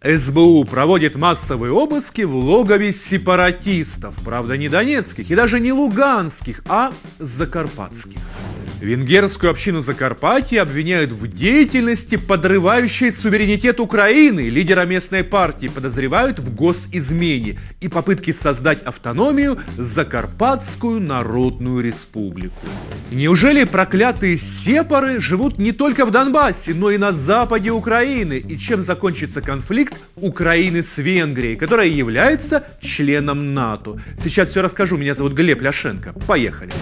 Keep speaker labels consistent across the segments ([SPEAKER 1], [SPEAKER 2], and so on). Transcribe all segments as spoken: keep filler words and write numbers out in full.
[SPEAKER 1] эс бэ у проводит массовые обыски в логове сепаратистов, правда не донецких и даже не луганских, а закарпатских. Венгерскую общину Закарпатья обвиняют в деятельности, подрывающей суверенитет Украины. Лидера местной партии подозревают в госизмене и попытке создать автономию Закарпатскую Народную Республику. Неужели проклятые сепары живут не только в Донбассе, но и на западе Украины? И чем закончится конфликт Украины с Венгрией, которая является членом НАТО? Сейчас все расскажу. Меня зовут Глеб Ляшенко. Поехали.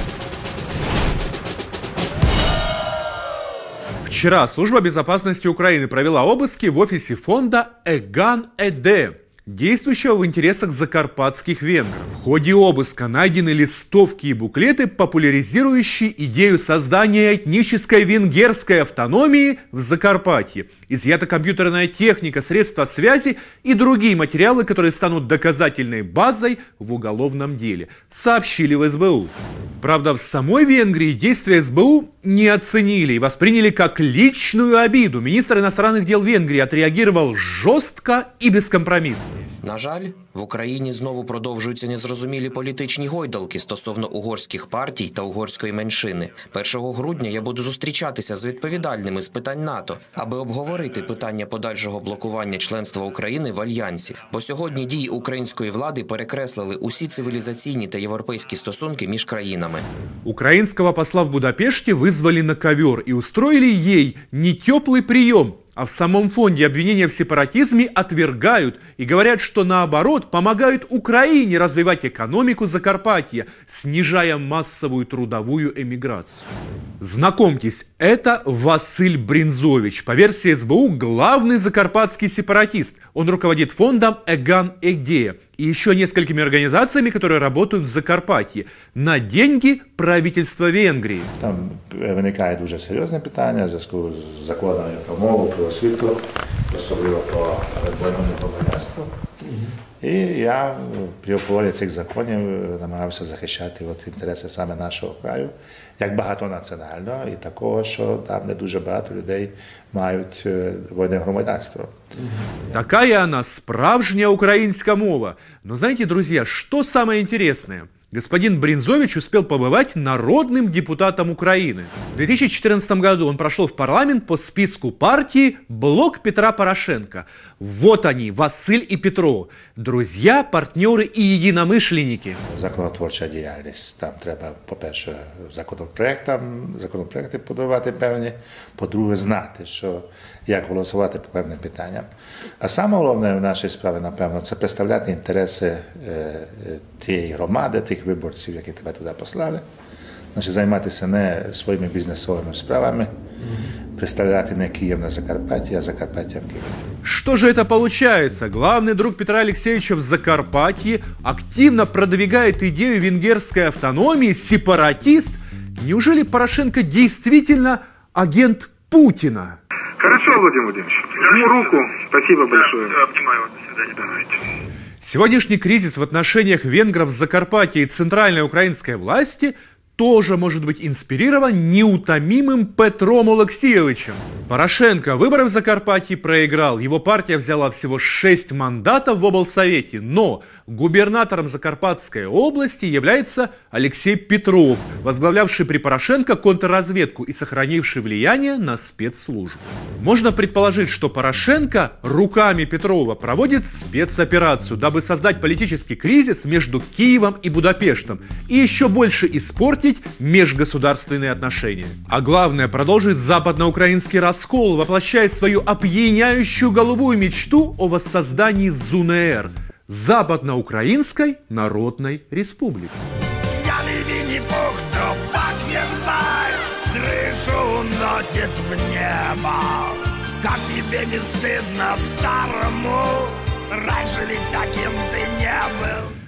[SPEAKER 1] Вчера Служба безопасности Украины провела обыски в офисе фонда Эган Эде, действующего в интересах закарпатских венгров. В ходе обыска найдены листовки и буклеты, популяризирующие идею создания этнической венгерской автономии в Закарпатье. Изъята компьютерная техника, средства связи и другие материалы, которые станут доказательной базой в уголовном деле, сообщили в эс бэ у. Правда, в самой Венгрии действия эс бэ у не оценили и восприняли как личную обиду. Министр иностранных дел Венгрии отреагировал жорстко і безкомпромісно.
[SPEAKER 2] На жаль, в Україні знову продовжуються незрозумілі політичні гойдалки стосовно угорських партій та угорської меншини. першого грудня я буду зустрічатися з відповідальними з питань НАТО, аби обговорити питання подальшого блокування членства України в Альянсі. Бо сьогодні дії української влади перекреслили усі цивілізаційні та європейські стосунки між країнами.
[SPEAKER 1] Украинского посла в Будапеште вызвали на ковер и устроили ей не теплый прием, а в самом фонде обвинения в сепаратизме отвергают и говорят, что наоборот помогают Украине развивать экономику Закарпатья, снижая массовую трудовую эмиграцию. Знакомьтесь, это Василь Бринзович, по версии эс бэ у главный закарпатский сепаратист. Он руководит фондом Эган Эде и еще несколькими организациями, которые работают в Закарпатье на деньги правительства Венгрії.
[SPEAKER 3] Там виникає дуже серйозне питання в зв'язку з законами про мову, про освіту, особливо про двойне громадянство. І я при обговоренні цих законів намагався захищати от інтереси саме нашого краю, як багатонаціонального і такого, що там не дуже багато людей мають двойне громадянство.
[SPEAKER 1] Такая она справжняя украинская мова. Но знаете, друзья, что самое интересное? Господин Бринзович успел побывать народным депутатом Украины. В две тысячи четырнадцатом году он прошел в парламент по списку партии «Блок Петра Порошенко». Вот они, Василь и Петро, друзья, партнеры и единомышленники.
[SPEAKER 3] Законотворча діяльність. Там треба, по-перше, законопроектам, законопроекти подавати певні, по-друге, знати, що, як голосувати по певним питанням. А саме головне в нашій справі, напевно, це представляти інтереси е, тієї громади, тих виборців, які тебе туди послали. Значить, займатися не своїми бізнесовими справами, представляти не Киев на Закарпатье, а Закарпатье в Киеве.
[SPEAKER 1] Что же это получается? Главный друг Петра Алексеевича в Закарпатье активно продвигает идею венгерской автономии, сепаратист. Неужели Порошенко действительно агент Путина?
[SPEAKER 4] Хорошо, Владимир Владимирович. Жму руку. Спасибо большое. Обнимаю вас. До свидания. Давайте.
[SPEAKER 1] Сегодняшний кризис в отношениях венгров с Закарпатья и центральной украинской власти тоже может быть инспирирован неутомимым Петром Олексійовичем. Порошенко выборы в Закарпатье проиграл, его партия взяла всего шесть мандатов в облсовете, но губернатором Закарпатской области является Алексей Петров, возглавлявший при Порошенко контрразведку и сохранивший влияние на спецслужбы. Можно предположить, что Порошенко руками Петрова проводит спецоперацию, дабы создать политический кризис между Киевом и Будапештом и еще больше испортить межгосударственные отношения. А главное, продолжить западноукраинский раскол, воплощая свою опьяняющую голубую мечту о воссоздании ЗУНР – Западноукраинской Народной Республики.
[SPEAKER 5] Пьяный Винни-Пух трупак ебать, крышу носит в небо. Как тебе не стыдно старому? Раньше ведь таким ты не был.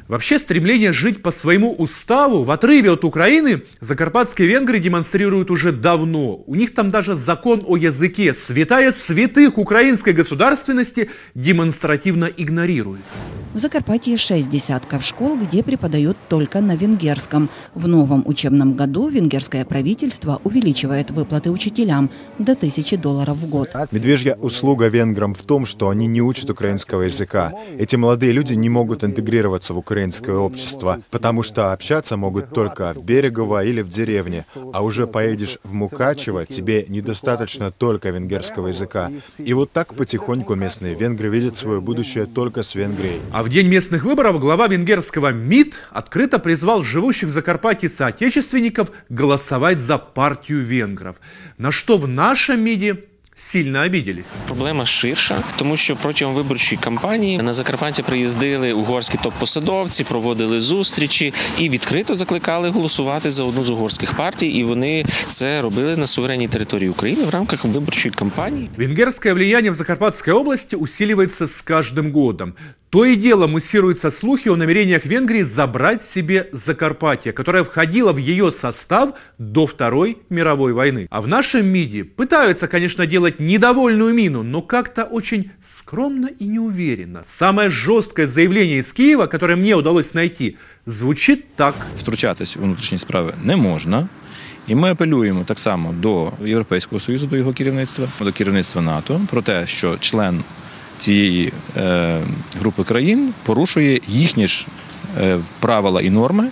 [SPEAKER 1] Вообще, стремление жить по своему уставу в отрыве от Украины закарпатские венгры демонстрируют уже давно. У них там даже закон о языке, святая святых украинской государственности, демонстративно игнорируется.
[SPEAKER 6] В Закарпатье шесть десятков школ, где преподают только на венгерском. В новом учебном году венгерское правительство увеличивает выплаты учителям до тысячи долларов в год.
[SPEAKER 7] Медвежья услуга венграм в том, что они не учат украинского языка. Эти молодые люди не могут интегрироваться в украинское общество, потому что общаться могут только в Берегово или в деревне. А уже поедешь в Мукачево, тебе недостаточно только венгерского языка. И вот так потихоньку местные венгры видят свое будущее только с Венгрией.
[SPEAKER 1] А в день местных выборов глава венгерского МИД открыто призвал живущих в Закарпатье соотечественников голосовать за партию венгров. На что в нашем МИДе сильно обиделись.
[SPEAKER 8] Проблема ширша, тому що протягом виборчої кампанії на Закарпаття приїздили угорські топ-посадовці, проводили зустрічі і відкрито закликали голосувати за одну з угорських партій, і вони це робили на суверенній території України в рамках виборчої кампании.
[SPEAKER 1] Венгерское влияние в Закарпатской области усиливается с каждым годом. То и дело муссируются слухи о намерениях Венгрии забрать себе Закарпатье, которое входило в ее состав до Второй мировой войны. А в нашем МИДе пытаются, конечно, делать недовольную мину, но как-то очень скромно и неуверенно. Самое жесткое заявление из Киева, которое мне удалось найти, звучит так.
[SPEAKER 9] Втручатись у внутрішні справи не можна. І ми апелюємо так само до Європейського Союзу, до його керівництва, до керівництва НАТО, про те, що член цієї е, групи країн порушує їхні ж е, правила і норми,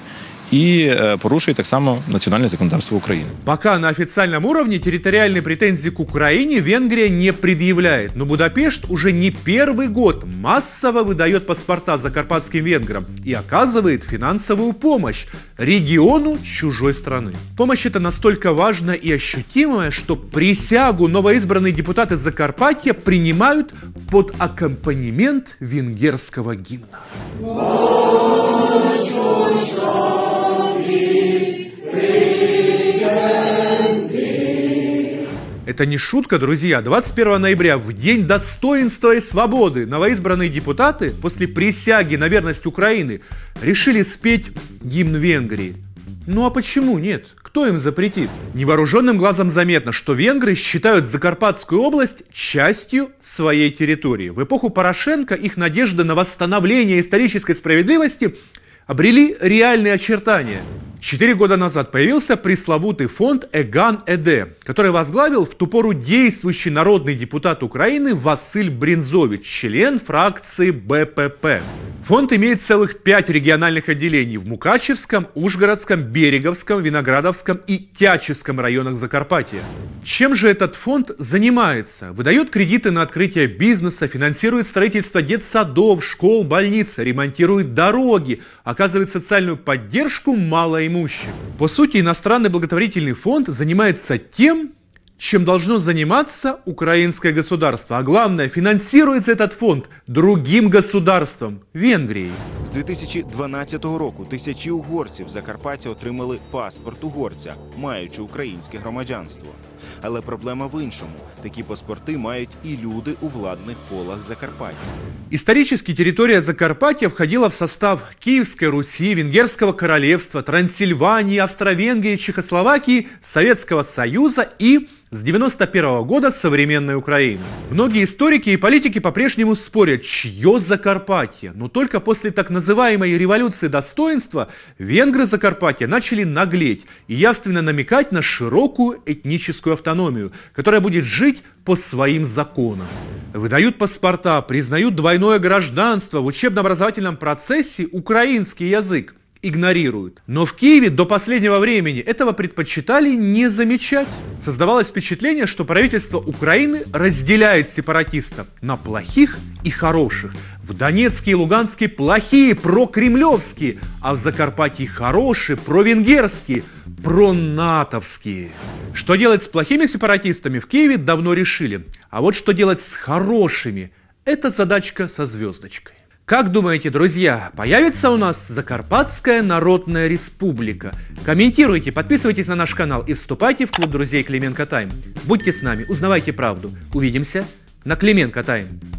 [SPEAKER 9] и э, порушует так само национальное законодательство Украины.
[SPEAKER 1] Пока на официальном уровне территориальные претензии к Украине Венгрия не предъявляет, но Будапешт уже не первый год массово выдает паспорта закарпатским венграм и оказывает финансовую помощь региону чужой страны. Помощь эта настолько важная и ощутимая, что присягу новоизбранные депутаты Закарпатья принимают под аккомпанемент венгерского гимна. Это не шутка, друзья. двадцать первого ноября, в день достоинства и свободы, новоизбранные депутаты после присяги на верность Украины решили спеть гимн Венгрии. Ну а почему нет? Кто им запретит? Невооруженным глазом заметно, что венгры считают Закарпатскую область частью своей территории. В эпоху Порошенко их надежды на восстановление исторической справедливости обрели реальные очертания. Четыре года назад появился пресловутый фонд Эган-Эде, который возглавил в ту пору действующий народный депутат Украины Василь Бринзович, член фракции Бэ Пэ Пэ. Фонд имеет целых пять региональных отделений в Мукачевском, Ужгородском, Береговском, Виноградовском и Тячевском районах Закарпатья. Чем же этот фонд занимается? Выдает кредиты на открытие бизнеса, финансирует строительство детсадов, школ, больниц, ремонтирует дороги, оказывает социальную поддержку малоимущим. По сути, иностранный благотворительный фонд занимается тем, чем должно заниматься украинское государство. А главное, финансируется этот фонд другим государством – Венгрией.
[SPEAKER 10] З дві тисячі дванадцятого року тисячі угорців Закарпаття отримали паспорт угорця, маючи українське громадянство. Але проблема в іншому. Такі паспорти мають і люди у владних колах Закарпаття.
[SPEAKER 1] Исторически территория Закарпатья входила в состав Киевской Руси, Венгерского королевства, Трансильвании, Австро-Венгрии, Чехословакии, Советского Союза и с девяносто первого года современной Украины. Многие историки и политики по-прежнему спорят, чье Закарпатье. Но только после так называемой революции достоинства венгры Закарпатья начали наглеть и явственно намекать на широкую этническую автономию, которая будет жить по своим законам. Выдают паспорта, признают двойное гражданство, в учебно-образовательном процессе украинский язык игнорируют. Но в Киеве до последнего времени этого предпочитали не замечать. Создавалось впечатление, что правительство Украины разделяет сепаратистов на плохих и хороших. В Донецке и Луганске плохие, прокремлевские, а в Закарпатье хорошие, провенгерские, пронатовские. Что делать с плохими сепаратистами в Киеве давно решили. А вот что делать с хорошими – это задачка со звездочкой. Как думаете, друзья, появится у нас Закарпатская Народная Республика? Комментируйте, подписывайтесь на наш канал и вступайте в клуб друзей Клименко Тайм. Будьте с нами, узнавайте правду. Увидимся на Клименко Тайм.